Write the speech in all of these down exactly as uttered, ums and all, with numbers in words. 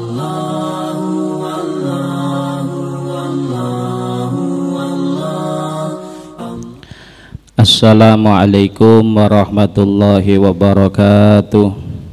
Assalamualaikum warahmatullahi wabarakatuh.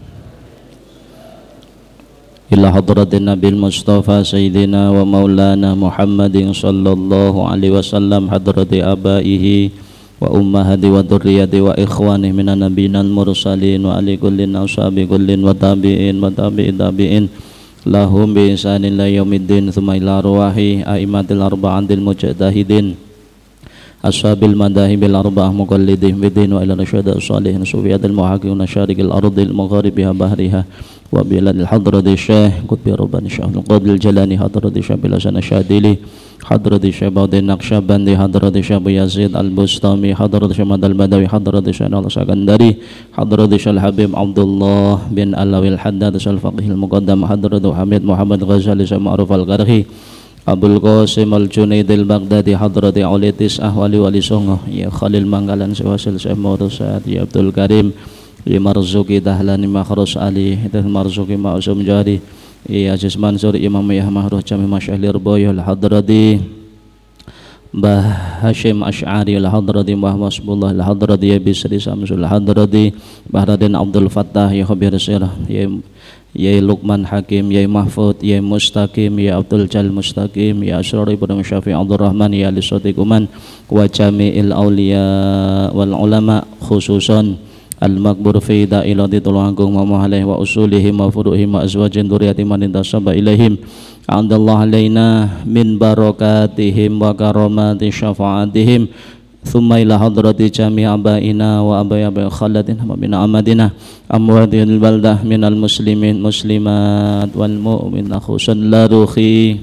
Ila hadratin Nabil Mustafa Sayyidina wa Maulana Muhammadin sallallahu alaihi wasallam, hadrati abaihi wa ummahati wa dhurriyyati wa ikhwani minan nabiyyin mursalin wa ali kullin ashabi kullin wa tabi'in wa tabi'in tabi'in lahum bi ihsanin ila yaumiddin, thumma ila arwahi a'immatil arba'atil mujtahidin ashabil madahibil arba'ah muqallidin bidin wa ila rasyada salihin sufiyatil muhaqiqin syarikil ardil magharibiha bahriha wa biladil hadrati syekh qutbi rabbani syahul qadil jalani hadrati syabil hasan syadili hadrati syabadin naqsyabandi hadrati syabu yazid al-bustami hadrati syamad al-badawi hadrati syanal sakandari hadrati syal habib abdullah bin alawil haddad syal faqihil muqaddam hadrati hamid muhammad ghazali ma'ruf al-qarhi Abul Qasim al-Junaidil Baghdadi hadrati aulitis ahwali wali songo ya Khalil Manggalan sewasil semurusat ya Abdul Karim ya Marzuki Dahlani Makhrus Ali dan Marzuki Ma'usum Jari ya Aziz Mansur Imam Yah Mahruh Jami Masyahlir Boyol hadrati Mbah Hashim Ash'ari al-hadrati Mbah Masbullah al-hadrati ya Bisri Samsul al-hadrati Mbah Raden Abdul Fattah ya Khabir Sirah ya Yai Luqman Hakim, Yai Mahfud, Yai Mustaqim, Yai Abdul Jal Mustaqim, Yai Asrari Ibn Syafi' Abdul Rahman, Yai Ali Sotikuman wa Jami'il Awliya wal Ulama khususan Al-Makbur fi Da'ilati Tulungagung wa Muhalih wa Usulihim wa Furuhim wa Azwajin Duriyati man intasaba ilaihim A'adallah alaina min barakatihim wa karamati syafa'atihim Thumma ila hadrati jami' abaina wa abai abai khalatin wa min amadina amwadil baldah minal muslimin muslimat wal mu'min khususan la ruhi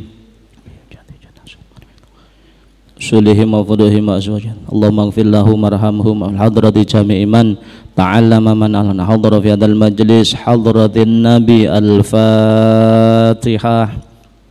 sulihim wa fuduhim wa azwajan Allahumma gfir lahum warhamhum al hadrati jami' iman ta'allama man alana hadra fi hadal majlis hadratin nabi al-fatihah.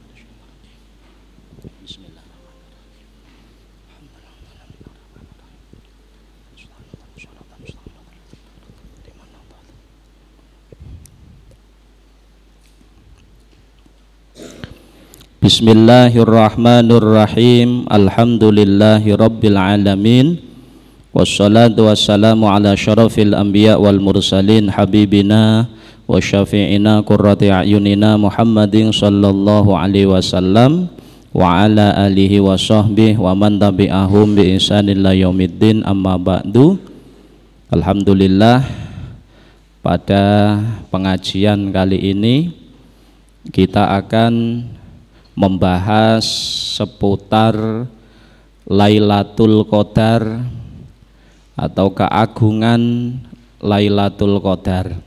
Bismillahirrahmanirrahim. Alhamdulillahi rabbil alamin. Wassalatu wassalamu ala syarafil anbiya wal mursalin habibina wa syafi'ina qurrati a'yunina Muhammadin sallallahu alaihi wasallam wa ala alihi wa sahbihi wa man tabi'ahum bi ihsanin ila yaumiddin, amma ba'du. Alhamdulillah, pada pengajian kali ini kita akan membahas seputar Lailatul Qadar atau keagungan Lailatul Qadar.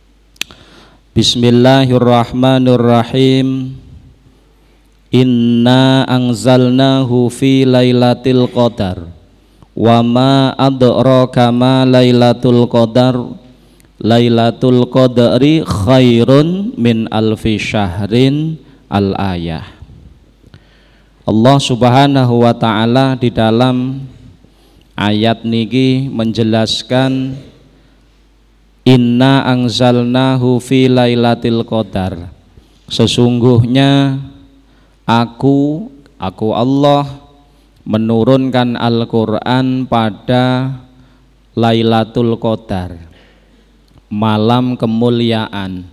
Bismillahirrahmanirrahim. Inna anzalnahu fi Lailatul Qadar wa ma adraka ma Lailatul Qadar. Lailatul Qadri khairun min alfi syahrin. Al-ayah. Allah Subhanahu wa ta'ala di dalam ayat niki menjelaskan inna anzalnahu fi lailatul qadar, sesungguhnya aku aku Allah menurunkan Al-Qur'an pada Lailatul Qadar, malam kemuliaan.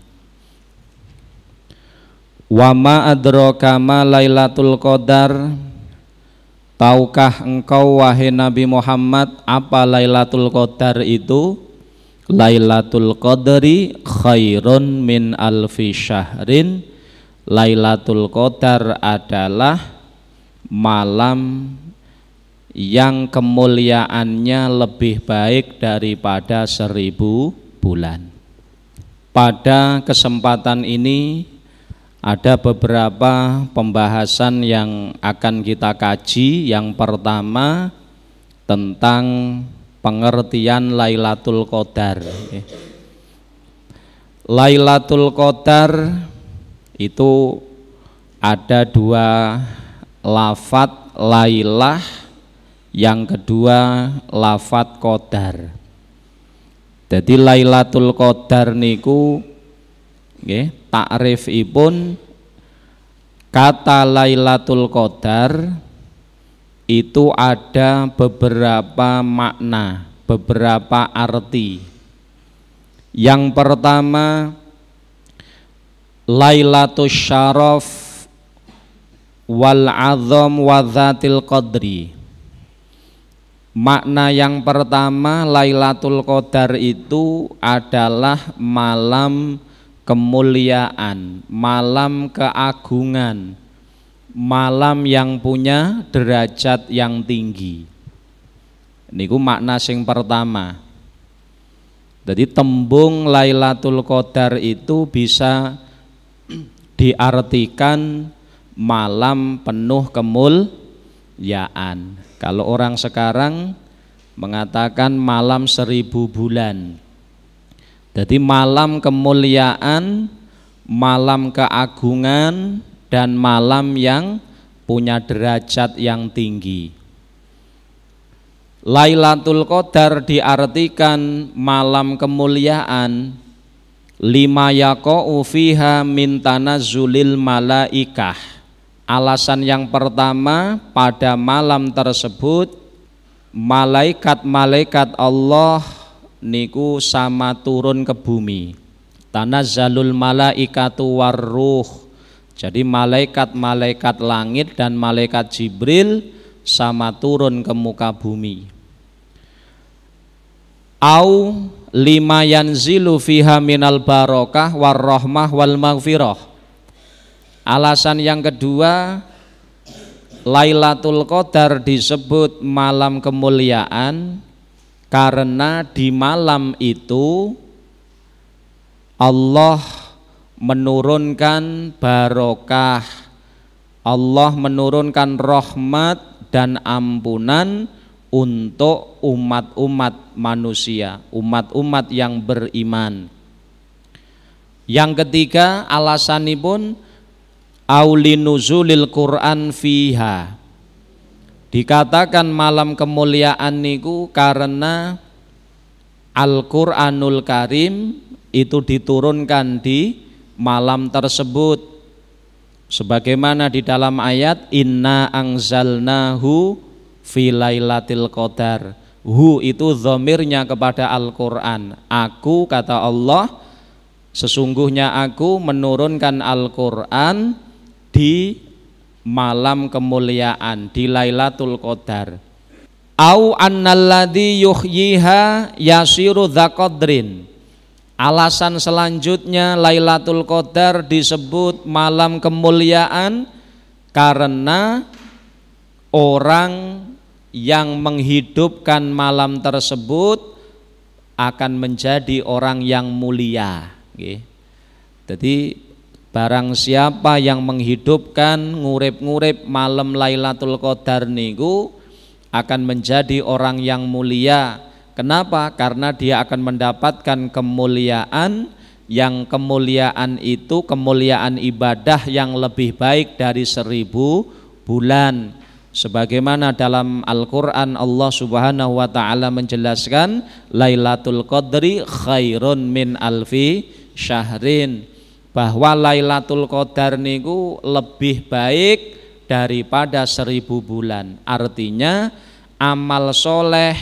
Wa ma adraka ma Lailatul Qadar, tahukah engkau wahai Nabi Muhammad apa Lailatul Qadar itu? Lailatul Qadri khairun min alfi syahrin. Lailatul Qadar adalah malam yang kemuliaannya lebih baik daripada seribu bulan. Pada kesempatan ini ada beberapa pembahasan yang akan kita kaji. Yang pertama tentang pengertian Lailatul Qadar. Lailatul Qadar itu ada dua lafadz, lailah, yang kedua lafadz qadar. Jadi Lailatul Qadar niku nggih takrifipun kata Lailatul Qadar itu ada beberapa makna, beberapa arti. Yang pertama, Lailatul Syaraf wal Azam wa Dzatil Qadri. Makna yang pertama, Lailatul Qadar itu adalah malam kemuliaan, malam keagungan, malam yang punya derajat yang tinggi. Niku makna sing pertama. Jadi tembung Lailatul Qadar itu bisa diartikan malam penuh kemuliaan. Kalau orang sekarang mengatakan malam seribu bulan. Jadi malam kemuliaan, malam keagungan, dan malam yang punya derajat yang tinggi. Lailatul Qadar diartikan malam kemuliaan, lima yaqa'u fiha min tanazzulil malaikah. Alasan yang pertama, pada malam tersebut malaikat-malaikat Allah niku sama turun ke bumi. Tanazzalul malaikatu warruh. Jadi malaikat-malaikat langit dan malaikat Jibril sama turun ke muka bumi. Au lima yanzilu fiha minal barokah warrahmah wal maghfirah. Alasan yang kedua, Lailatul Qadar disebut malam kemuliaan karena di malam itu Allah menurunkan barokah, Allah menurunkan rahmat dan ampunan untuk umat-umat manusia, umat-umat yang beriman. Yang ketiga, alasanipun aulinuzulil Quran fiha. Dikatakan malam kemuliaan niku karena Al-Qur'anul Karim itu diturunkan di malam tersebut, sebagaimana di dalam ayat inna anzalnahu fi lailatul qadar. Hu itu dhamirnya kepada Al-Qur'an. Aku, kata Allah, sesungguhnya aku menurunkan Al-Qur'an di malam kemuliaan, di Lailatul Qadar. Au annalladzi yuhyiha yasiru dzaqadrin. Alasan selanjutnya Lailatul Qadar disebut malam kemuliaan karena orang yang menghidupkan malam tersebut akan menjadi orang yang mulia. Jadi barang siapa yang menghidupkan ngurip-ngurip malam Lailatul Qadar niku akan menjadi orang yang mulia. Kenapa? Karena dia akan mendapatkan kemuliaan, yang kemuliaan itu kemuliaan ibadah yang lebih baik dari seribu bulan. Sebagaimana dalam Al-Quran Allah Subhanahu wa ta'ala menjelaskan Lailatul Qadri khairun min alfi syahrin, bahwa Lailatul Qadar niku lebih baik daripada seribu bulan. Artinya amal soleh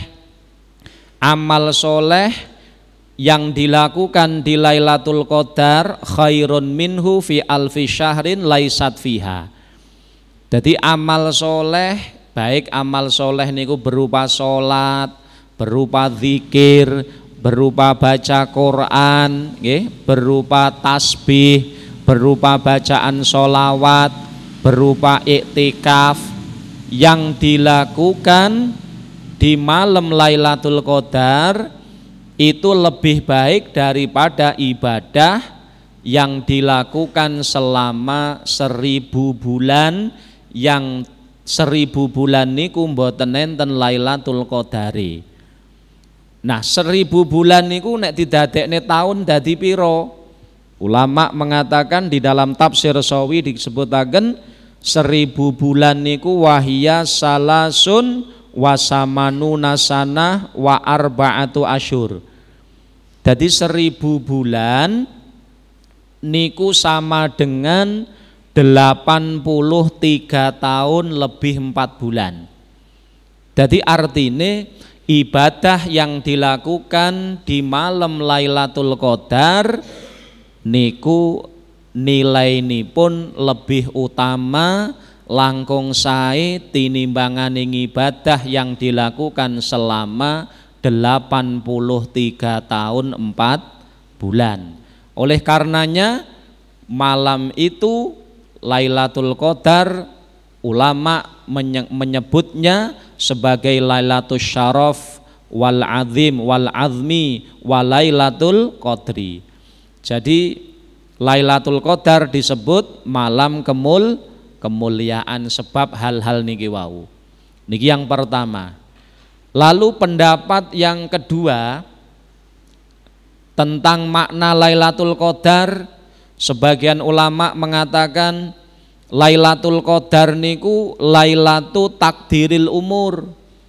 amal soleh yang dilakukan di Lailatul Qadar khairun minhu fi alfi syahrin laisat fiha. Jadi amal soleh, baik amal soleh niku berupa sholat, berupa zikir, berupa baca Quran, berupa tasbih, berupa bacaan sholawat, berupa iktikaf, yang dilakukan di malam Lailatul Qadar itu lebih baik daripada ibadah yang dilakukan selama seribu bulan, yang seribu bulan niku mboten enten Lailatul Qadari. Nah, seribu bulan niku nek didadekne tahun dadi piro? Ulama mengatakan di dalam tafsir Sawi disebutaken seribu bulan niku wahia salasun wasamanu nasana wa arba'atu asyur. Jadi seribu bulan niku sama dengan delapan puluh tiga tahun lebih empat bulan. Jadi artinya ibadah yang dilakukan di malam Lailatul Qadar niku nilainipun lebih utama langkung sae tinimbanganing ibadah yang dilakukan selama delapan puluh tiga tahun empat bulan. Oleh karenanya malam itu Lailatul Qadar ulama menyebutnya sebagai Lailatul Syaraf wal Azim wal Azmi wal Lailatul Qadri. Jadi Lailatul Qadar disebut malam kemul kemuliaan sebab hal-hal niki wau. Niki yang pertama. Lalu pendapat yang kedua tentang makna Lailatul Qadar, sebagian ulama mengatakan Lailatul Qadar niku Lailatu takdiril umur.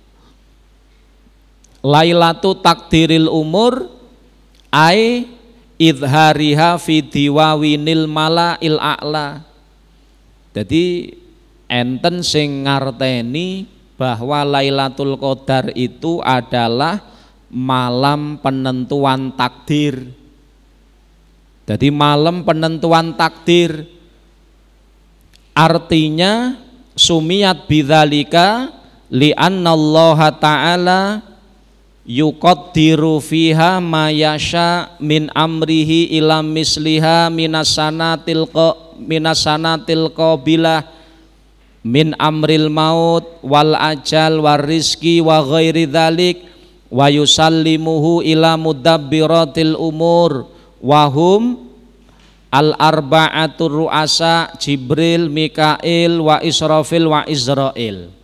Lailatu takdiril umur ai idhariha fi diwawinil malail a'la. Jadi enten sing ngarteni bahwa Lailatul Qadar itu adalah malam penentuan takdir. Jadi malam penentuan takdir artinya sumiyat bidzalika li'annallaha ta'ala yuqaddiru fiha ma yasha min amrihi ila misliha minasanatil qa minasanatil qabilah min amril maut wal ajal war rizki wa ghairi dzalik wa yusallimuhu ila mudabbiratil umur wahum al arba'atur ru'asa Jibril, Mikail, wa Israfil, wa Israil.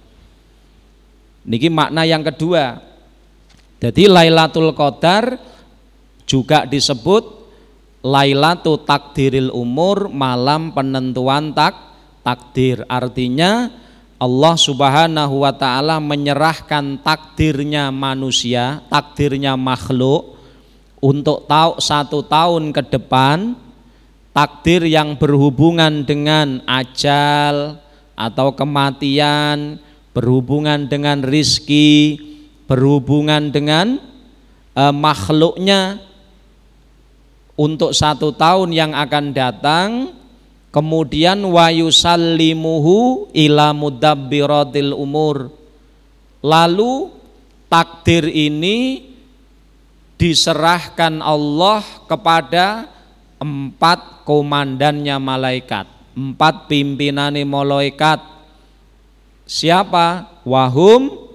Niki makna yang kedua. Jadi Lailatul Qadar juga disebut Lailatul Takdiril Umur, malam penentuan tak takdir. Artinya Allah Subhanahu wa taala menyerahkan takdirnya manusia, takdirnya makhluk untuk tahu satu tahun ke depan, takdir yang berhubungan dengan ajal atau kematian, berhubungan dengan rizki, berhubungan dengan eh, makhluknya untuk satu tahun yang akan datang. Kemudian wa yusallimuhu ila mudabbiratil umur. Lalu takdir ini diserahkan Allah kepada empat komandannya malaikat, empat pimpinane malaikat. Siapa? Wahum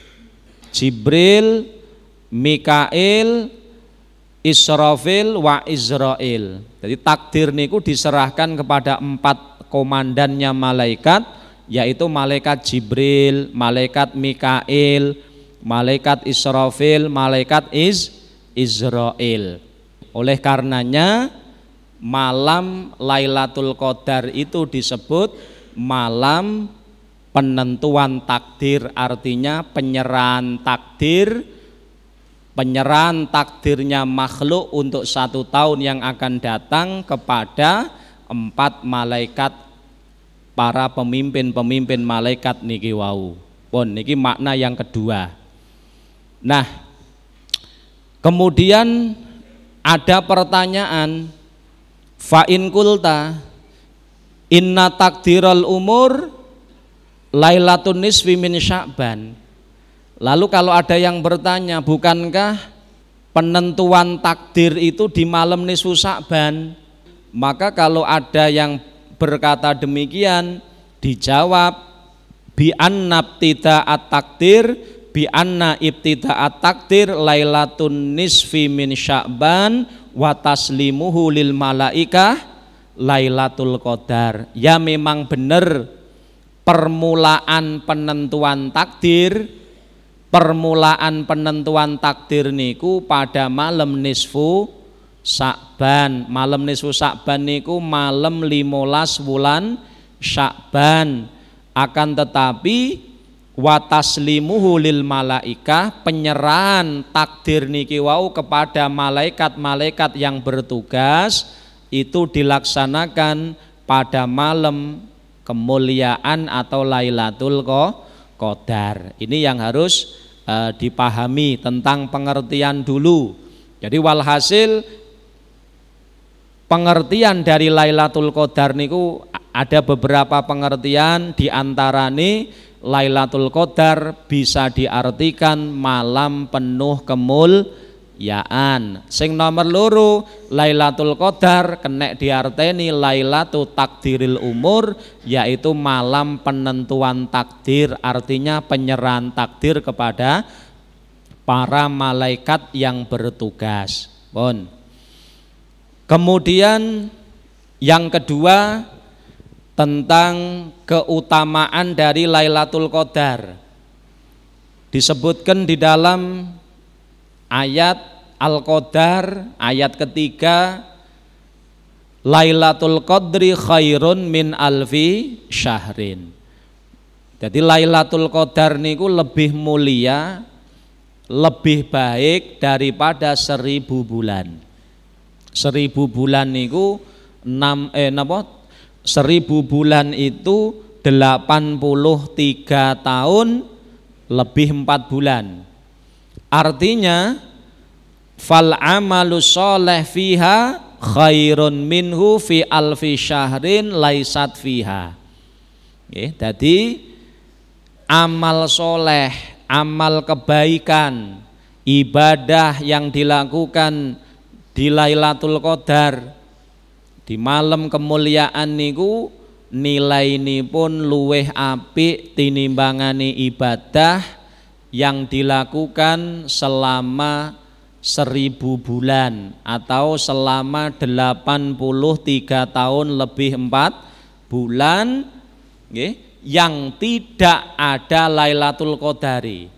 Jibril, Mikail, Israfil, wa Israil. Jadi takdir niku diserahkan kepada empat komandannya malaikat, yaitu malaikat Jibril, malaikat Mikail, malaikat Israfil, malaikat Iz Israil. Oleh karenanya malam Lailatul Qadar itu disebut malam penentuan takdir, artinya penyerahan takdir, penyerahan takdirnya makhluk untuk satu tahun yang akan datang kepada empat malaikat, para pemimpin-pemimpin malaikat niki wau. Pun niki makna yang kedua. Nah, kemudian ada pertanyaan, fa in kulta inna takdiral umur Lailatun nisfi min Sya'ban. Lalu kalau ada yang bertanya, bukankah penentuan takdir itu di malam nisfu Sya'ban? Maka kalau ada yang berkata demikian, dijawab bi anna ibtida'at takdir bi anna ibtida'at takdir Lailatun nisfi min Sya'ban wa taslimuhu lil malaikah Lailatul Qadar. Ya memang benar permulaan penentuan takdir, permulaan penentuan takdir niku pada malam nisfu Sya'ban. Malam nisfu Sya'ban niku malam limolas bulan Sya'ban. Akan tetapi wa taslimuhu lil malaikah, penyerahan takdir niki wau kepada malaikat-malaikat yang bertugas itu dilaksanakan pada malam kemuliaan atau Lailatul Qadar. Ini yang harus uh, dipahami tentang pengertian dulu. Jadi walhasil pengertian dari Lailatul Qadar niku ada beberapa pengertian, di antarane Lailatul Qadar bisa diartikan malam penuh kemuliaan. Sing nomor loro, Lailatul Qadar kena diarteni Lailatul Takdiril Umur, yaitu malam penentuan takdir, artinya penyerahan takdir kepada para malaikat yang bertugas. Bon. Kemudian yang kedua tentang keutamaan dari Lailatul Qadar. Disebutkan di dalam ayat Al-Qadar ayat ketiga, Lailatul Qadri khairun min alfi syahrin. Jadi Lailatul Qadar niku lebih mulia, lebih baik daripada seribu bulan. Seribu bulan niku enam eh napa? Seribu bulan itu delapan puluh tiga tahun lebih empat bulan. Artinya fal amalu sholeh fiha khairun minhu fi alfi syahrin laisat fiha. Oke, jadi amal soleh, amal kebaikan, ibadah yang dilakukan di Lailatul Qadar di malam kemuliaan niku nilai ini pun luweh apik tinimbangane ibadah yang dilakukan selama seribu bulan atau selama delapan puluh tiga tahun lebih empat bulan, okay, yang tidak ada Lailatul Qadari.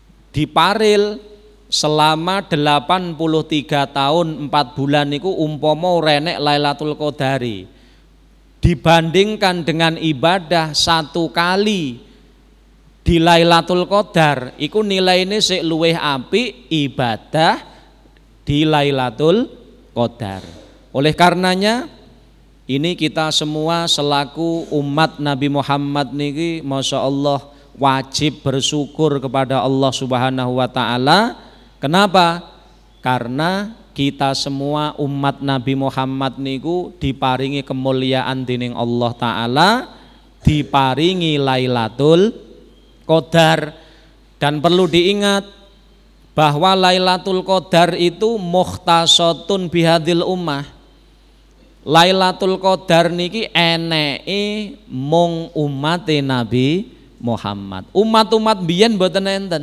Diparil selama delapan puluh tiga tahun empat bulan niku umpama renek Lailatul Qadari, dibandingkan dengan ibadah satu kali di Lailatul Qadar iku nilaine sik luwih apik ibadah di Lailatul Qadar. Oleh karenanya ini kita semua selaku umat Nabi Muhammad niki Masya Allah wajib bersyukur kepada Allah Subhanahu wa Ta'ala. Kenapa? Karena kita semua umat Nabi Muhammad niku diparingi kemuliaan dening Allah Ta'ala, diparingi Lailatul Qadar. Dan perlu diingat bahwa Lailatul Qadar itu mukhtasatun bihadil ummah. Lailatul Qadar niki eneke mung umate Nabi Muhammad. Umat-umat biyen mboten enten.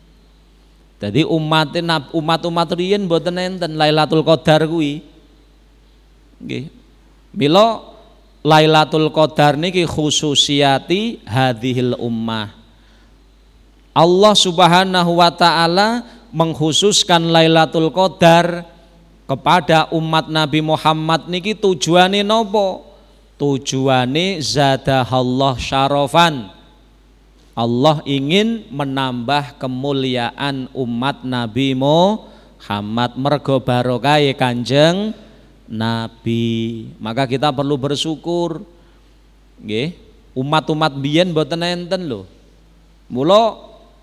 Jadi umat umat-umat riyen mboten enten Lailatul Qadar kuwi. Nggih. Mila Lailatul Qadar niki khususiyati hadhil ummah. Allah Subhanahu wa Ta'ala mengkhususkan Lailatul Qadar kepada umat Nabi Muhammad niki tujuane napa? Tujuane zadahallah syarafan. Allah ingin menambah kemuliaan umat Nabi Muhammad mergo barokahe Kanjeng Nabi. Maka kita perlu bersyukur. Nggih, umat-umat biyen mboten enten lho. Mula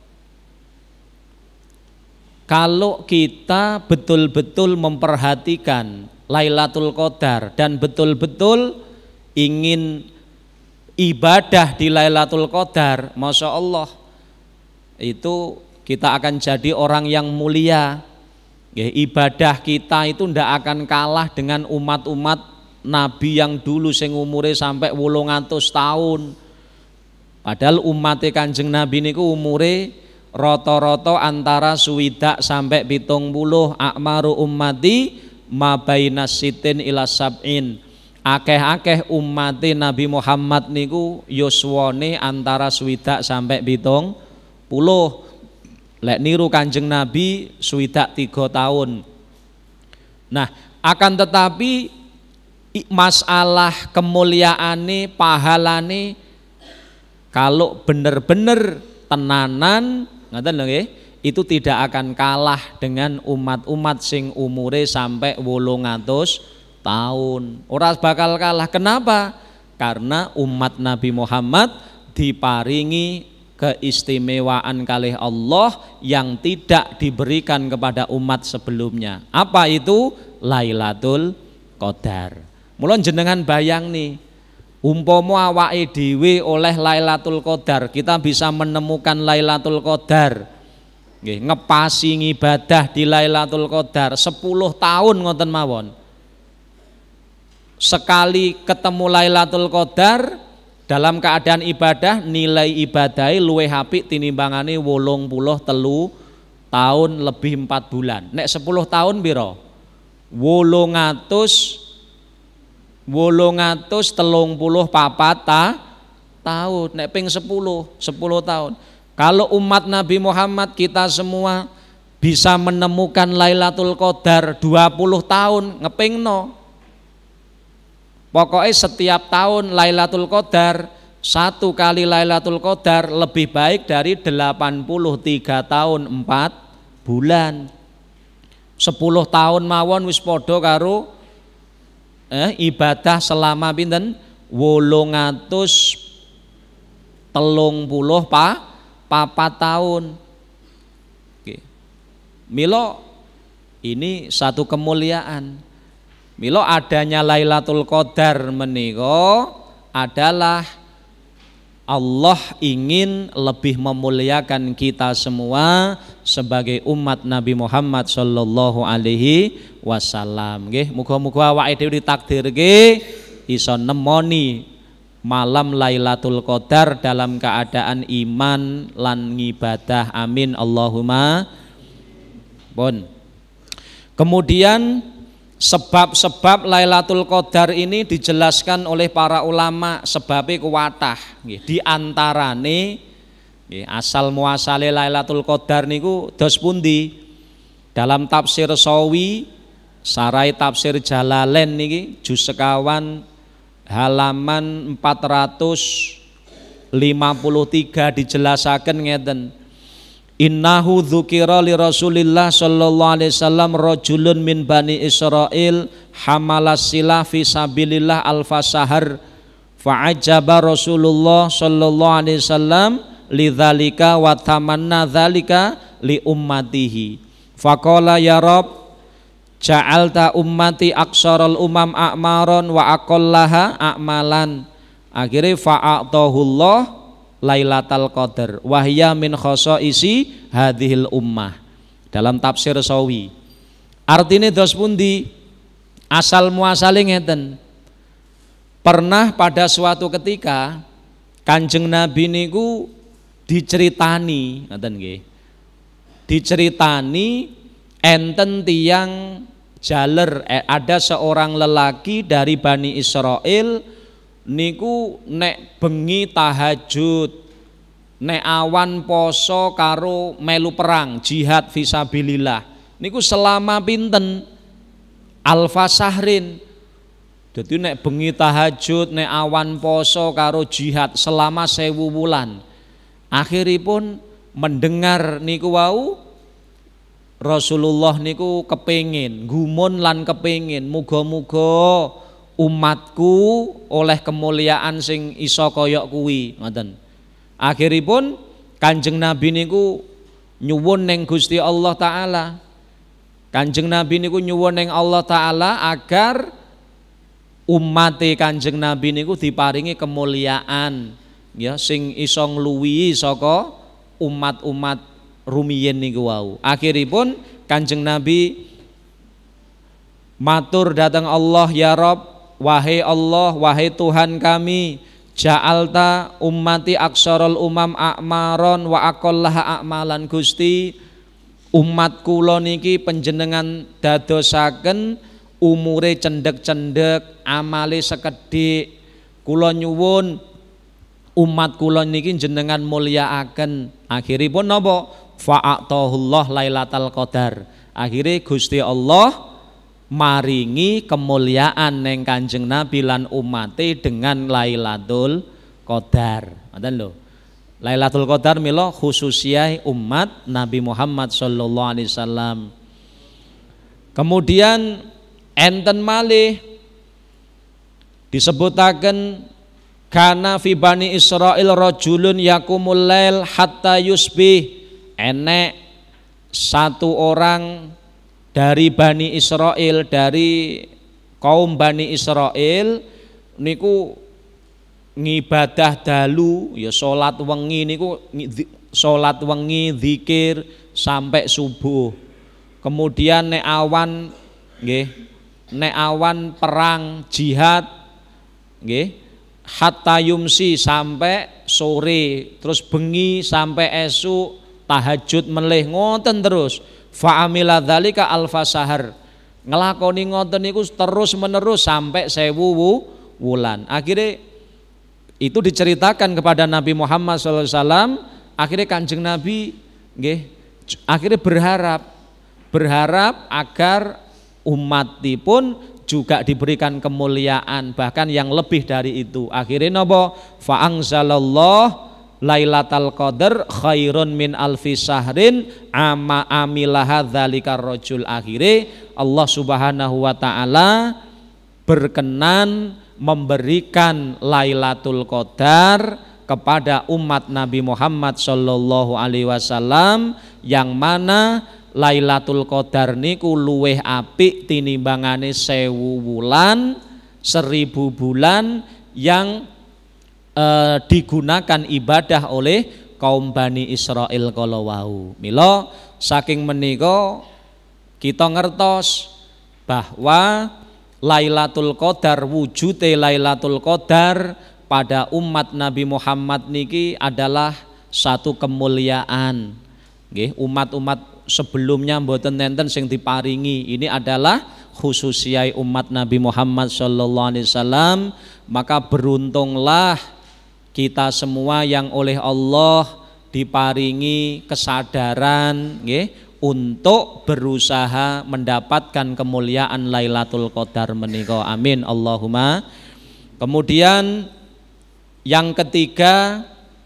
kalau kita betul-betul memperhatikan Lailatul Qadar dan betul-betul ingin ibadah di Lailatul Qadar, Masya Allah, itu kita akan jadi orang yang mulia. Ya, ibadah kita itu ndak akan kalah dengan umat-umat Nabi yang dulu sing umure sampai wolung atus tahun. Padahal umatnya Kanjeng Nabi niku umure rata-rata antara swidak sampai pitung puluh. Akmaru ummati mabainas sitin ila sab'in. Akeh-akeh umate Nabi Muhammad niku yuswane antara swidak sampai pitung puluh. Lek niru Kanjeng Nabi swidak tiga tahun. Nah, akan tetapi masalah kemuliaane, pahalane kalau bener-bener tenanan ngoten lho nggih, itu tidak akan kalah dengan umat-umat sing umure sampai wolung atus tahun. Ora bakal kalah. Kenapa? Karena umat Nabi Muhammad diparingi keistimewaan kalih Allah yang tidak diberikan kepada umat sebelumnya. Apa itu? Lailatul Qadar. Mula jenengan bayang nih, umpama awake dhewe oleh Lailatul Qadar, kita bisa menemukan Lailatul Qadar. Nggih, ngepasi ngibadah di Lailatul Qadar sepuluh tahun ngoten mawon. Sekali ketemu Lailatul Qadar dalam keadaan ibadah, nilai ibadahnya luwih apik tinimbangane wolung puluh telu tahun lebih empat bulan. Nek sepuluh tahun piro? wolung atus wolung atus telung puluh papat ta, tahun. Nek ping sepuluh, sepuluh tahun. Kalau umat Nabi Muhammad kita semua bisa menemukan Lailatul Qadar dua puluh tahun, ngepingno. Pokoknya setiap tahun Lailatul Qadar, satu kali Lailatul Qadar lebih baik dari delapan puluh tiga tahun empat bulan. sepuluh tahun mawon wis padha karo eh, ibadah selama pinten wolung atus telung puluh pa, papat tahun. Oke. Milo ini satu kemuliaan. Milo adanya Lailatul Qadar menika adalah Allah ingin lebih memuliakan kita semua sebagai umat Nabi Muhammad sallallahu alaihi wasallam. Nggih, muga-muga awake dhewe ditakdirke iso nemoni malam Lailatul Qadar dalam keadaan iman lan ngibadah. Amin Allahumma. Pun. Kemudian sebab-sebab Lailatul Qadar ini dijelaskan oleh para ulama sebabnya kuwatah. Di antarane asal muasale Lailatul Qadar niku dos pundi. Dalam tafsir Sawi, sarai tafsir Jalalain niki juz sekawan halaman empat ratus lima puluh tiga dijelasaken ngeten. Innahu dzukira li Rasulillah sallallahu alaihi wasallam rajulun min bani Israil hamalas silah fi sabilillah alfa sahar fa'ajaba Rasulullah sallallahu alaihi wasallam lidzalika wa tamanna dzalika li ummatihi faqala ya Rabb ja'alta ummati aqsaral umam a'maron wa aqallaha a'malan. Akhirnya fa'atahullah Lailatul Qadar wahya min khosoisi hadhil ummah. Dalam tafsir Sawi artinya dos pundi asal muasale ngeten. Pernah pada suatu ketika Kanjeng Nabi niku diceritani ngoten nggih, diceritani enten tiang jaler eh, ada seorang lelaki dari Bani Israel niku nek bengi tahajud, nek awan poso karo melu perang jihad fisabilillah niku selama pinten alfa sahrin. Jadi nek bengi tahajud, nek awan poso karo jihad selama sewu wulan. Akhiripun mendengar niku wau Rasulullah niku kepengin gumun lan kepengin muga-muga umatku oleh kemuliaan sing iso koyok kuwi ngoten. Akhiripun Kanjeng Nabi niku nyuwun ning Gusti Allah taala. Kanjeng Nabi niku nyuwun ning Allah taala agar umate Kanjeng Nabi niku diparingi kemuliaan ya sing iso ngluwihi saka umat-umat rumiyin niku wau. Akhiripun Kanjeng Nabi matur datang Allah, ya Rabb, wahai Allah, wahai Tuhan kami, ja'alta ummati aksarul umam a'maron wa aqallaha a'malan. Gusti, umat kula niki panjenengan dadosaken umure cendhek-cendhek, amale sekedhik. Kula nyuwun umat kula niki jenengan mulyakaken. Akhiripun napa? Fa'atahullah Lailatul Qadar. Akhire Gusti Allah maringi kemuliaan neng Kanjeng Nabi lan umate dengan Lailatul Qadar. Ngoten lho. Lailatul Qadar mila khususiyah umat Nabi Muhammad sallallahu alaihi wasallam. Kemudian enten malih disebutaken Kana fi bani Israil rajulun yakumul lail hatta yusbih. Enek satu orang dari Bani Israel, dari kaum Bani Israel niku ngibadah dalu, ya salat wengi niku salat wengi zikir sampai subuh. Kemudian nek awan nggih, nek awan perang jihad nggih, hatta yumsi sampai sore, terus bengi sampai esuk, tahajud melih ngoten terus. Fa amila dzalika alfa sahar. Ngelakoni ngoten niku terus menerus sampai sewu wulan. Akhirnya itu diceritakan kepada Nabi Muhammad shallallahu alaihi wasallam. Akhirnya Kanjeng Nabi nggih, akhirnya berharap berharap agar umatipun juga diberikan kemuliaan, bahkan yang lebih dari itu. Akhirnya napa? Fa anzalallah Lailatul Qadar khairun min alfi sahrin ama amilaha dzalikar rajul. Akhirnya Allah Subhanahu wa taala berkenan memberikan Lailatul Qadar kepada umat Nabi Muhammad sallallahu alaihi wasallam, yang mana Lailatul Qadar niku luweh apik tinimbangane sewu wulan, seribu bulan yang Eh, digunakan ibadah oleh kaum Bani Israel kala wau. Mila saking menika kita ngertos bahwa Lailatul Qadar, wujude Lailatul Qadar pada umat Nabi Muhammad niki adalah satu kemuliaan. Nggih, umat-umat sebelumnya mboten nenten sing diparingi. Ini adalah khususiyai umat Nabi Muhammad sallallahu alaihi wasallam. Maka beruntunglah kita semua yang oleh Allah diparingi kesadaran nggih, untuk berusaha mendapatkan kemuliaan Lailatul Qadar menika. Amin Allahumma. Kemudian yang ketiga,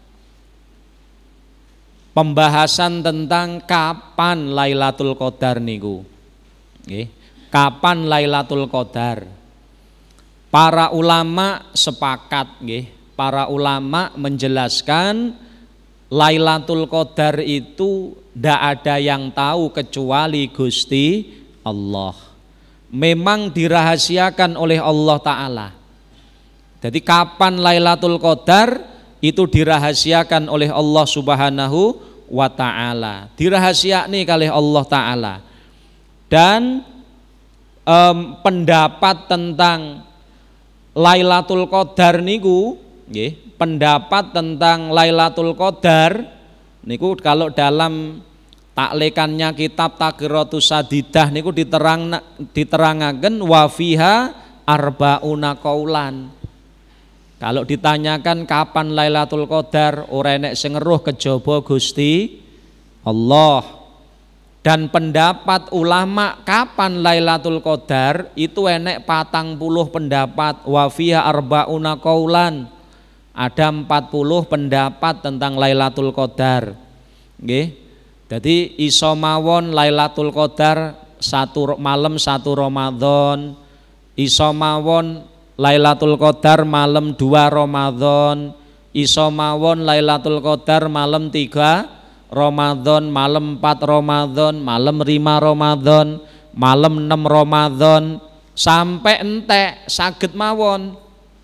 pembahasan tentang kapan Lailatul Qadar niku. Nggih, kapan Lailatul Qadar? Para ulama sepakat nggih. Para ulama menjelaskan Lailatul Qadar itu tidak ada yang tahu kecuali Gusti Allah. Memang dirahasiakan oleh Allah Ta'ala. Jadi kapan Lailatul Qadar itu dirahasiakan oleh Allah Subhanahu wa Ta'ala. Dirahasiakan oleh Allah Ta'ala. Dan um, pendapat tentang Lailatul Qadar niku nggih, pendapat tentang Lailatul Qadar niku kalau dalam taklikannya kitab Taqiratus Sadidah niku diterang diterangaken wa fiha arbauna qaulan. Kalau ditanyakan kapan Lailatul Qadar, ora enek sing ngeruh kejaba Gusti Allah. Dan pendapat ulama kapan Lailatul Qadar itu enek patang puluh pendapat, wa fiha arbauna qaulan. Ada empat puluh pendapat tentang Lailatul Qadar. Nggih. Jadi iso mawon Lailatul Qadar satu malam satu Ramadan, iso mawon Lailatul Qadar malam dua Ramadan, iso mawon Lailatul Qadar malam tiga Ramadan, malam empat Ramadan, malam lima Ramadan, malam enam Ramadan, sampai entek saged mawon.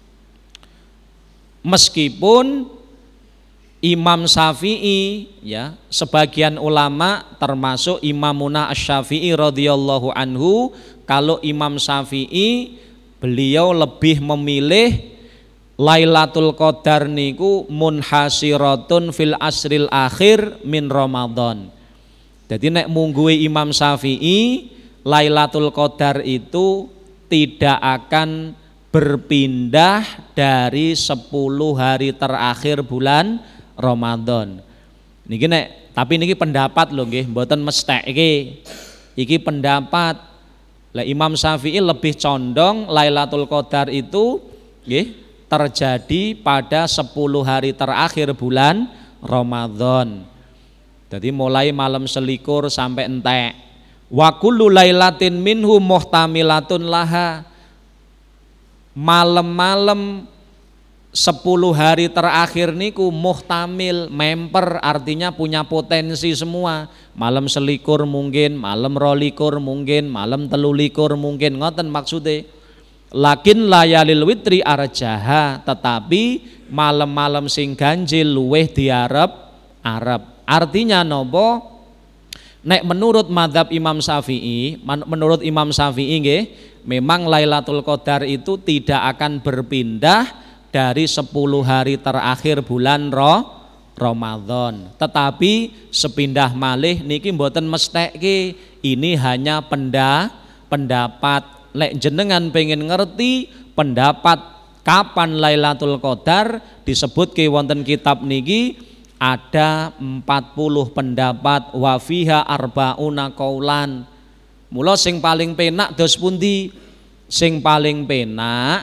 Meskipun Imam Syafi'i, ya, sebagian ulama termasuk Imamuna Asy-Syafi'i radhiyallahu anhu, kalau Imam Syafi'i beliau lebih memilih Lailatul Qadar niku munhasiratun fil asril akhir min Ramadan. Jadi nek mungguhe Imam Syafi'i, Lailatul Qadar itu tidak akan berpindah dari sepuluh hari terakhir bulan Ramadan. Niki nek, tapi niki pendapat lho nggih, mboten mesthek iki. Iki pendapat. Lah Imam Syafi'i lebih condong Lailatul Qadar itu nggih terjadi pada sepuluh hari terakhir bulan Ramadan. Jadi mulai malam selikur sampai entek. Wa kullu lailatin minhu muhtamilatun laha. Malam-malam sepuluh hari terakhir niku muhtamil, memper, artinya punya potensi semua. Malam selikur mungkin, malam rolikur mungkin, malam telulikur mungkin, ngoten maksudnya. Lakin layalil witri arjaha, tetapi malam-malam sing ganjil luweh diarep arep. Artinya nopo? Nek menurut madhab Imam Syafi'i, menurut Imam Syafi'i nggih, memang Lailatul Qadar itu tidak akan berpindah dari sepuluh hari terakhir bulan Roh Ramadan. Tetapi sepindah malih niki mboten mestheke, ini hanya penda, pendapat. Lek jenengan pengen ngerti pendapat kapan Lailatul Qadar, disebut ke wonten kitab niki ada empat puluh pendapat, wa fiha arbauna qaulan. Mula sing paling penak dos pundi? Sing paling penak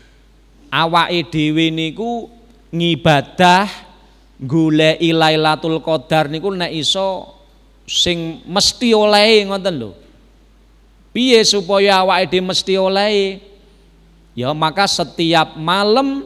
awake dhewe niku ngibadah goleki Lailatul Qadar niku nek iso sing mesti oleh ngoten lho. Piye supaya awake dhewe mesti oleh? Ya maka setiap malam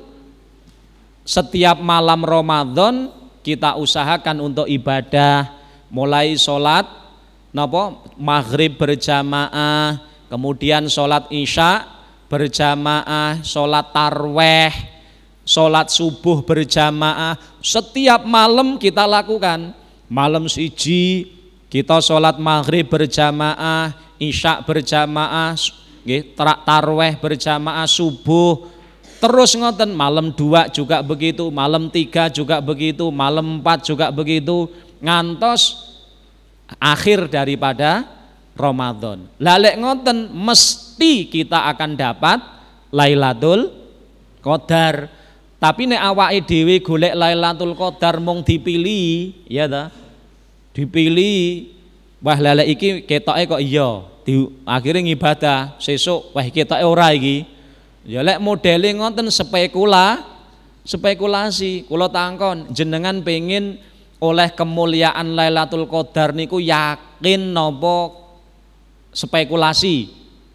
setiap malam Ramadan kita usahakan untuk ibadah, mulai sholat napa maghrib berjamaah, kemudian sholat isya berjamaah, sholat tarweh, sholat subuh berjamaah. Setiap malam kita lakukan. Malam siji kita sholat maghrib berjamaah, isya berjamaah, tarweh berjamaah, subuh terus ngoten. Malam dua juga begitu, malam tiga juga begitu, malam empat juga begitu, ngantos akhir daripada Ramadan. Lalek ngoten mesti kita akan dapat Lailatul Qadar. Tapi nek awake dhewe golek Lailatul Qadar mung dipilih, ya ta? Dipilih, wah lalek iki ketoke kok iya, di akhirnya ngibadah, sesuk wah ketoke ora iki. Ya lek modele ngoten spekula, spekulasi. Kula tangkon, jenengan pengen oleh kemuliaan Lailatul Qadar niku yakin napa spekulasi?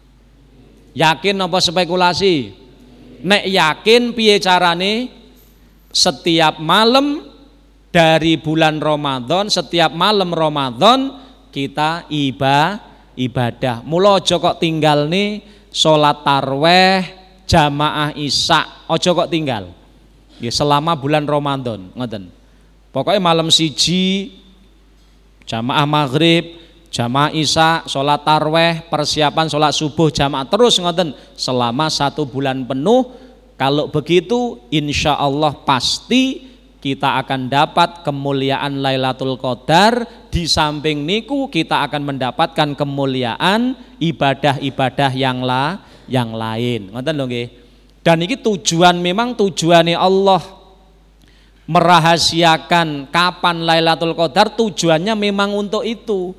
Yakin napa spekulasi? Nek yakin piye carane? Setiap malam dari bulan Ramadan, setiap malam Ramadan kita iba, ibadah. Mula aja kok tinggal nih salat tarweh, jamaah isya, aja kok tinggal. Ya selama bulan Ramadan, ngoten. Pokoknya malam siji jamaah maghrib, jamaah isya, sholat tarweh, persiapan sholat subuh jamaah terus ngoten selama satu bulan penuh. Kalau begitu insya Allah pasti kita akan dapat kemuliaan Lailatul Qadar. Di samping niku kita akan mendapatkan kemuliaan ibadah-ibadah yang la, yang lain. Ngoten lho nggih. Dan ini tujuan, memang tujuannya Allah merahasiakan kapan Lailatul Qadar, tujuannya memang untuk itu,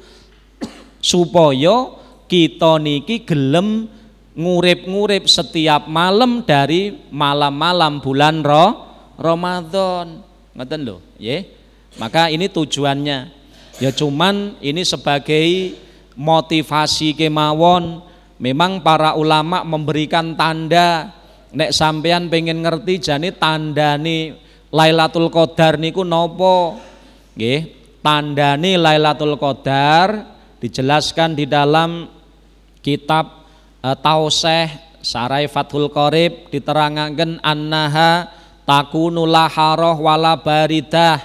supaya kita niki gelem ngurip-ngurip setiap malam dari malam-malam bulan Roh Ramadan. Ngoten lho, nggih. Maka ini tujuannya. Ya cuman ini sebagai motivasi kemawon. Memang para ulama memberikan tanda, nek sampean pengen ngerti jane tandane Lailatul Qadar niku napa? Nggih, tandane Lailatul Qadar dijelaskan di dalam kitab e, Tauseh Sarai Fathul Qorib, diterangaken annaha takunu laharoh wala baridah.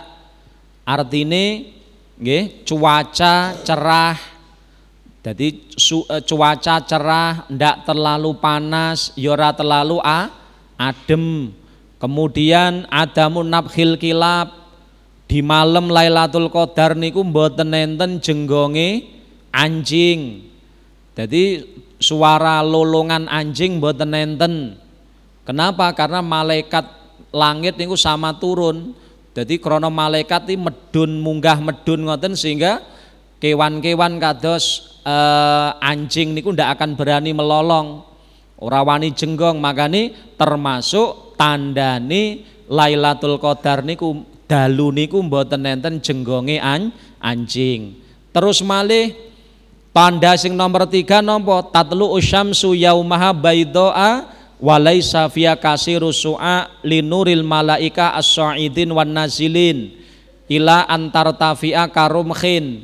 Artine nggih cuaca cerah. Jadi su, e, cuaca cerah, ndak terlalu panas, yora terlalu a, adem. Kemudian adamun nabkhil kilab, di malam Lailatul Qadar niku mboten enten jenggonge anjing. Jadi suara lolongan anjing mboten enten. Kenapa? Karena malaikat langit niku sama turun. Jadi krana malaikat iki medun munggah medun ngoten sehingga kewan-kewan kados eh, anjing niku ndak akan berani melolong, ora wani jenggong. Makane termasuk tandane Lailatul Qadar niku dalu niku mboten enten jenggonge an, anjing. Terus malih tanda sing nomor tiga napa? Tatlu usyamsu yaumaha baidoa walaisa fiya kasiru su'a linuril malaika as-sa'idin wan nazilin ila antar tafi'a karumkhin.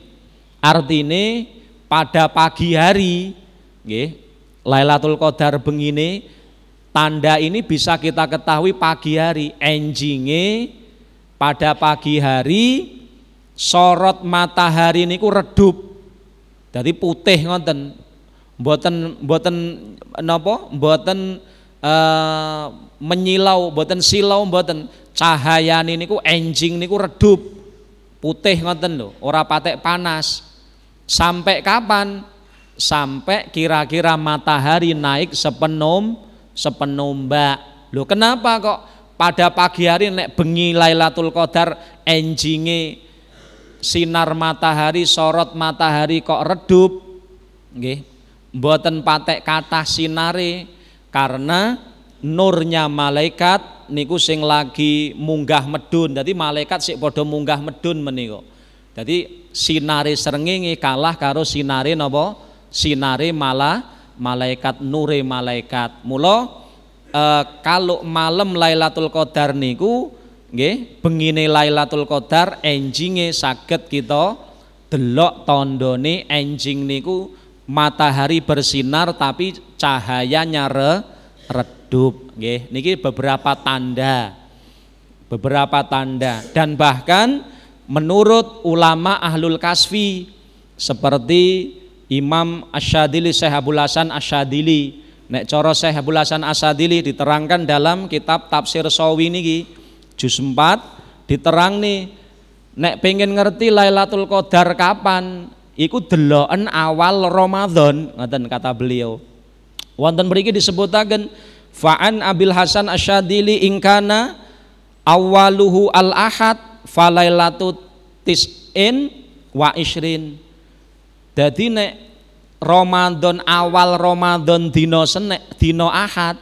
Artine pada pagi hari nggih Lailatul Qadar bengine, tanda ini bisa kita ketahui pagi hari, enjinge pada pagi hari sorot matahari niku redup. Jadi putih ngoten. Mboten mboten napa? Mboten uh, menyilau, mboten silau, mboten. Cahayane niku enjing niku redup. Putih ngoten lho, ora patek panas. Sampai kapan? Sampai kira-kira matahari naik sepenom sepenumbak. Loh kenapa kok pada pagi hari nek bengi Lailatul Qadar enjinge sinar matahari, sorot matahari kok redup? Nggih, mboten patek kathah sinare karena nurnya malaikat niku sing lagi munggah medun. Dadi malaikat sik padha munggah medun menika. Dadi sinare srengenge kalah karo sinare napa? Sinare malah malaikat, nure malaikat. Mula e, kalau malam Lailatul Qadar niku nggih bengine Lailatul Qadar enjinge saged kita delok tandane enjing niku matahari bersinar tapi cahayanya re, redup nggih. Niki beberapa tanda. Beberapa tanda dan bahkan menurut ulama ahlul kasfi seperti Imam Asyadili, Syekh Abdul Hasan Asyadili, nek cara Syekh Abdul Hasan Asyadili diterangkan dalam kitab Tafsir Shawi niki juz empat diterang nih, nek pengen ngerti Lailatul Qadar kapan iku deloken awal Ramadan ngoten kata beliau. Wonten mriki disebutaken fa'an Abil Hasan Asyadili ingkana awaluhu al-ahad falailatut tis'in wa ishrin. Jadi nek Ramadan awal Ramadan dino senek dino ahad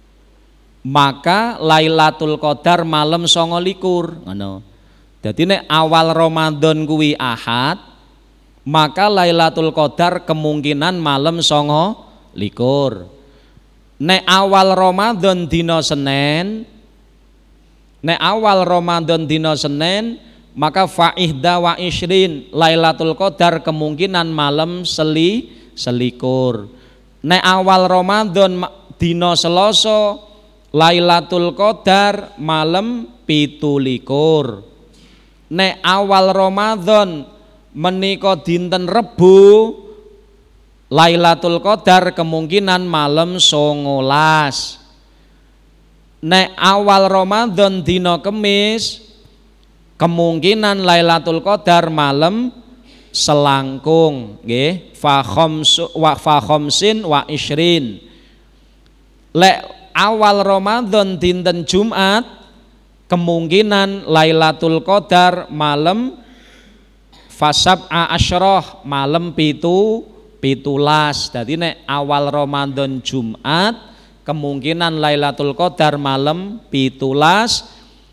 maka Lailatul Qadar malam songo likur ngono. Jadi nek awal Ramadan kuwi ahad maka Lailatul Qadar kemungkinan malam songo likur. Nek awal Ramadan dino Senin nek awal Ramadan dino Senin maka fa'ihda wa ishrin Lailatul Qadar kemungkinan malam seli selikur. Nek awal Ramadan dina Selasa Lailatul Qadar malam pitulikur. Nek awal Ramadan menika dinten Rebu Lailatul Qadar kemungkinan malam songolas. Nek awal Ramadan dina Kemis kemungkinan Lailatul Qadar malam selangkung nggih fa khamsu wa fa khamsin wa ishrin. Lek awal Ramadan dinten Jumat kemungkinan Lailatul Qadar malam fasab'a asyrah malam pitu pitulas. Dadi nek awal Ramadan Jumat kemungkinan Lailatul Qadar malam pitulas.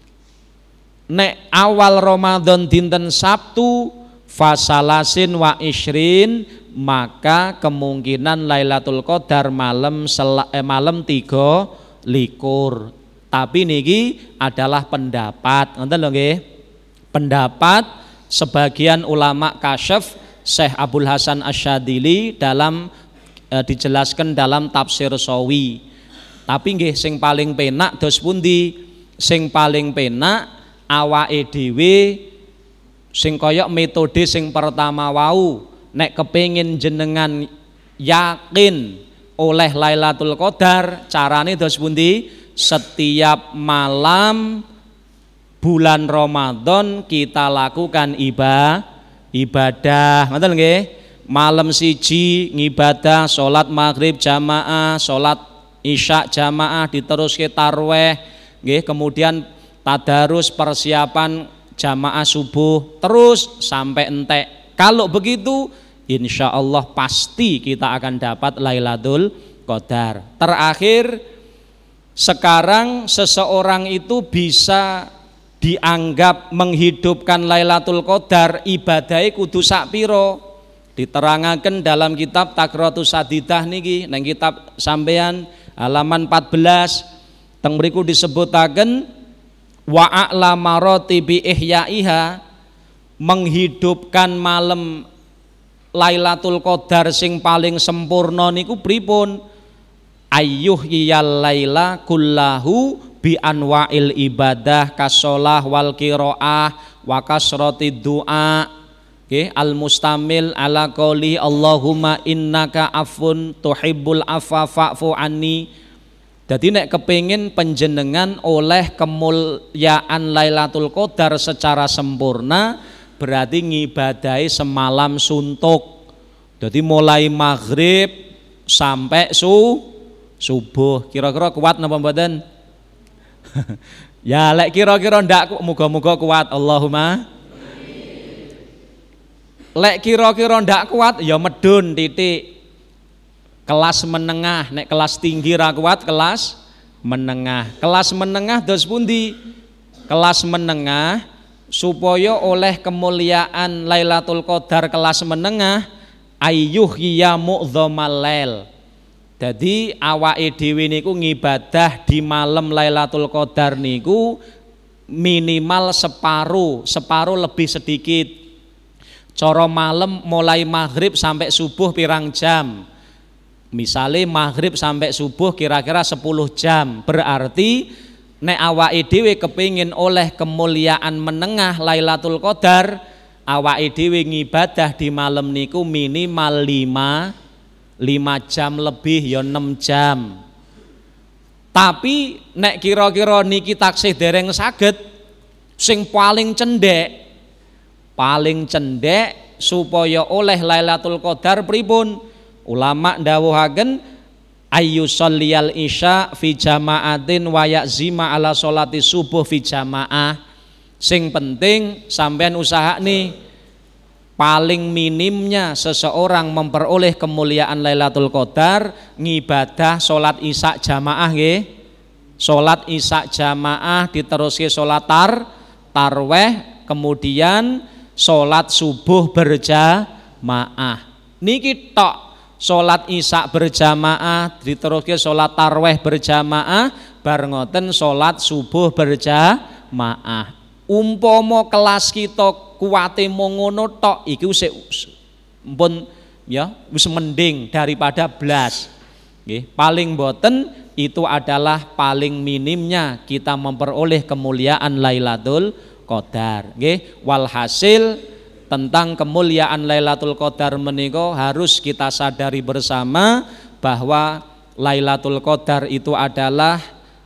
Nek awal Ramadan dinten Sabtu fasalasin wa ishrin maka kemungkinan Lailatul Qadar malam sel, eh, malam tiga likur. Tapi niki adalah pendapat, ngoten lho nggih. Pendapat sebagian ulama kasyaf Syekh Abdul Hasan Asyadili dalam eh, dijelaskan dalam tafsir Shawi. Tapi nggih sing paling penak dos pundi? Sing paling penak awake dhewe sing kaya metode sing pertama wau, nek kepengin jenengan yakin oleh Lailatul Qadar carane dos pundi? Setiap malam bulan Ramadan kita lakukan ibadah ibadah ngoten nggih. Malam siji ngibadah salat maghrib jamaah, salat isya jamaah, diteruske tarweh nggih, kemudian tadarus persiapan jamaah subuh terus sampai entek. Kalau begitu insya Allah pasti kita akan dapat Lailatul Qadar. Terakhir sekarang seseorang itu bisa dianggap menghidupkan Lailatul Qadar ibadahnya kudu sak piro. Diterangaken dalam kitab Takratus Sadidah niki nang kitab sampean halaman empat belas teng mriku disebutaken wa a'lama ratibi ihyaiha, menghidupkan malam Lailatul Qadar sing paling sempurna niku pripun? Ayyuh iyal laila kullahu bi anwa'il ibadah kasolah wal qiraah wa kasrati du'a, okay, al mustamil ala qouli Allahumma innaka afun tuhibbul afwa fa'fu anni. Jadi nek kepingin penjenengan oleh kemuliaan Lailatul Qadar secara sempurna, berarti ngibadahi semalam suntuk. Jadi mulai maghrib sampai su subuh. Kira-kira kuat napa mboten? Ya lek kira-kira ndak, muga-muga kuat. Allahumma amin. Lek kira-kira ndak kuat ya medun titik. Kelas menengah, nek kelas tinggi ra kuat, kelas menengah. Kelas menengah dos pundi? Kelas menengah supaya oleh kemuliaan Lailatul Qadar kelas menengah, ayyuh ya mu'dhamal lail. Jadi awake dhewe niku ngibadah di malam Lailatul Qadar niku minimal separuh, separuh lebih sedikit. Cara malam mulai maghrib sampai subuh pirang jam? Misalnya maghrib sampai subuh kira-kira sepuluh jam. Berarti nek awake dhewe kepingin oleh kemuliaan menengah Lailatul Qadar, awake dhewe ngibadah di malam niku minimal lima lima jam lebih ya enam jam. Tapi nek kira-kira niki taksih dereng saged, sing paling cendek paling cendek supaya oleh Lailatul Qadar pripun? Ulama ndawuhaken ayu sholiyal isya fi jamaatin wa ya'zima ala sholati subuh fi jamaah. Sing penting sampean usaha nih, paling minimnya seseorang memperoleh kemuliaan Lailatul Qadar ngibadah sholat isya jamaah nggih. Sholat isya jamaah diteruske sholat tar tarweh, kemudian sholat subuh berjamaah. Niki tok. Sholat isya berjamaah diteruske sholat tarweh berjamaah, bar ngoten sholat subuh berjamaah. Umpama kelas kita kuwate mung ngono tok, iki wis mpun ya wis mending daripada blas. Nggih, paling boten itu adalah paling minimnya kita memperoleh kemuliaan Lailatul Qadar. Nggih, walhasil tentang kemuliaan Lailatul Qadar menika harus kita sadari bersama bahwa Lailatul Qadar itu adalah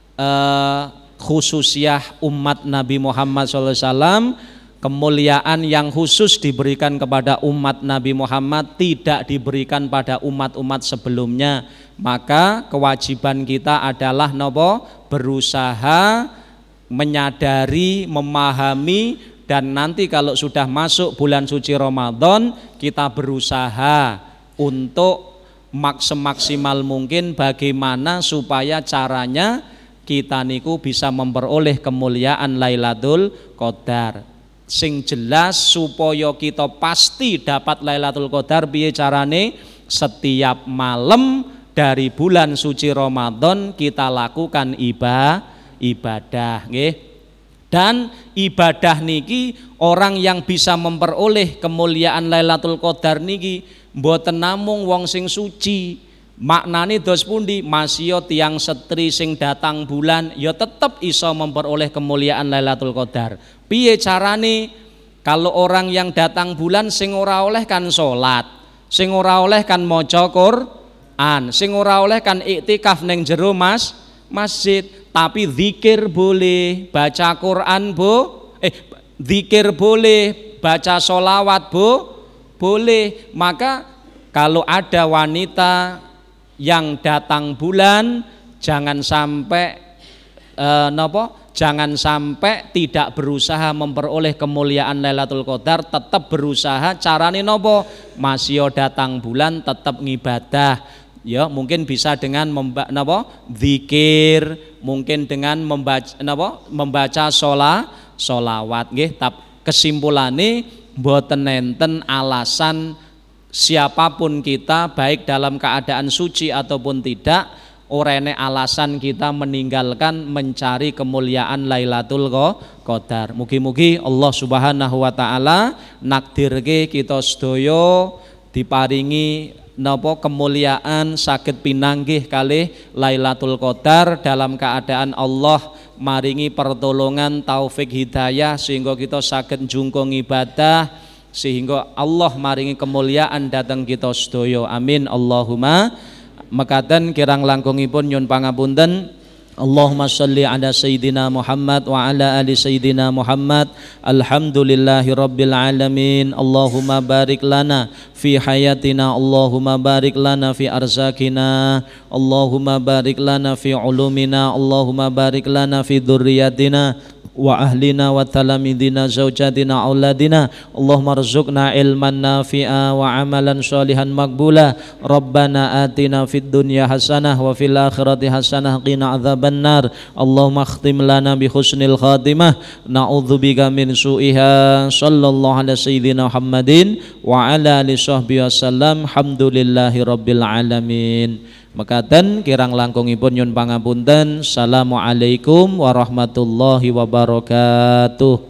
eh, khususiyah umat Nabi Muhammad shallallahu alaihi wasallam. Kemuliaan yang khusus diberikan kepada umat Nabi Muhammad tidak diberikan pada umat-umat sebelumnya. Maka kewajiban kita adalah nopo? Berusaha menyadari, memahami, dan nanti kalau sudah masuk bulan suci Ramadan kita berusaha untuk maksimal mungkin bagaimana supaya caranya kita niku bisa memperoleh kemuliaan Lailatul Qadar. Sing jelas supaya kita pasti dapat Lailatul Qadar piye carane? Setiap malam dari bulan suci Ramadan kita lakukan ibadah ibadah nggih. Dan ibadah niki orang yang bisa memperoleh kemuliaan Lailatul Qadar niki mboten namung wong sing suci. Maknane dos pundi? Masya tiyang setri sing datang bulan ya tetep iso memperoleh kemuliaan Lailatul Qadar. Piye carane? Kalau orang yang datang bulan sing ora oleh kan salat, sing ora oleh kan maca Quran, sing ora oleh kan iktikaf ning jero mas masjid. Tapi zikir boleh, baca Quran bo, eh zikir boleh, baca sholawat bo, boleh. Maka kalau ada wanita yang datang bulan, jangan sampai eh, nopo, jangan sampai tidak berusaha memperoleh kemuliaan Lailatul Qadar, tetap berusaha. Carane nopo? Masih datang bulan tetap ngibadah. Ya, mungkin bisa dengan memba, napa, zikir, mungkin dengan membaca napa, membaca sholat, sholawat nggih. Kesimpulannya mboten enten alasan siapapun kita baik dalam keadaan suci ataupun tidak ora enek alasan kita meninggalkan mencari kemuliaan Lailatul Qadar. Mugi-mugi Allah Subhanahu wa taala nakdirke kita sedaya diparingi napa kemuliaan saged pinanggih kalih Lailatul Qadar dalam keadaan Allah maringi pertolongan taufik hidayah sehingga kita saged njungkung ibadah, sehingga Allah maringi kemuliaan datang kita sedaya. Amin Allahumma. Mekaten kirang langkungipun nyun pangapunten. Allahumma sholli ala sayyidina Muhammad wa ala ali sayyidina Muhammad. Alhamdulillahi rabbil alamin. Allahumma barik lana fi hayatina, Allahumma barik lana fi arzakina, Allahumma barik lana fi ulumina, Allahumma barik lana fi dzurriyyatina wa ahlina wa talamidina zaujatina auladina. Allahumma rzuqna ilman nafi'a wa amalan sholihan maqbula. Rabbana atina fid dunya hasanah wa fil akhirati hasanah qina adzabannar. Allahumma khtim lana bi husnil khatimah, na'udzubika min su'iha. Sallallahu ala sayyidina Muhammadin wa ala alihi sahbihi wasallam. Alhamdulillahi rabbil alamin. Mekaten kirang langkungipun nyun pangapunten. Assalamualaikum warahmatullahi wabarakatuh.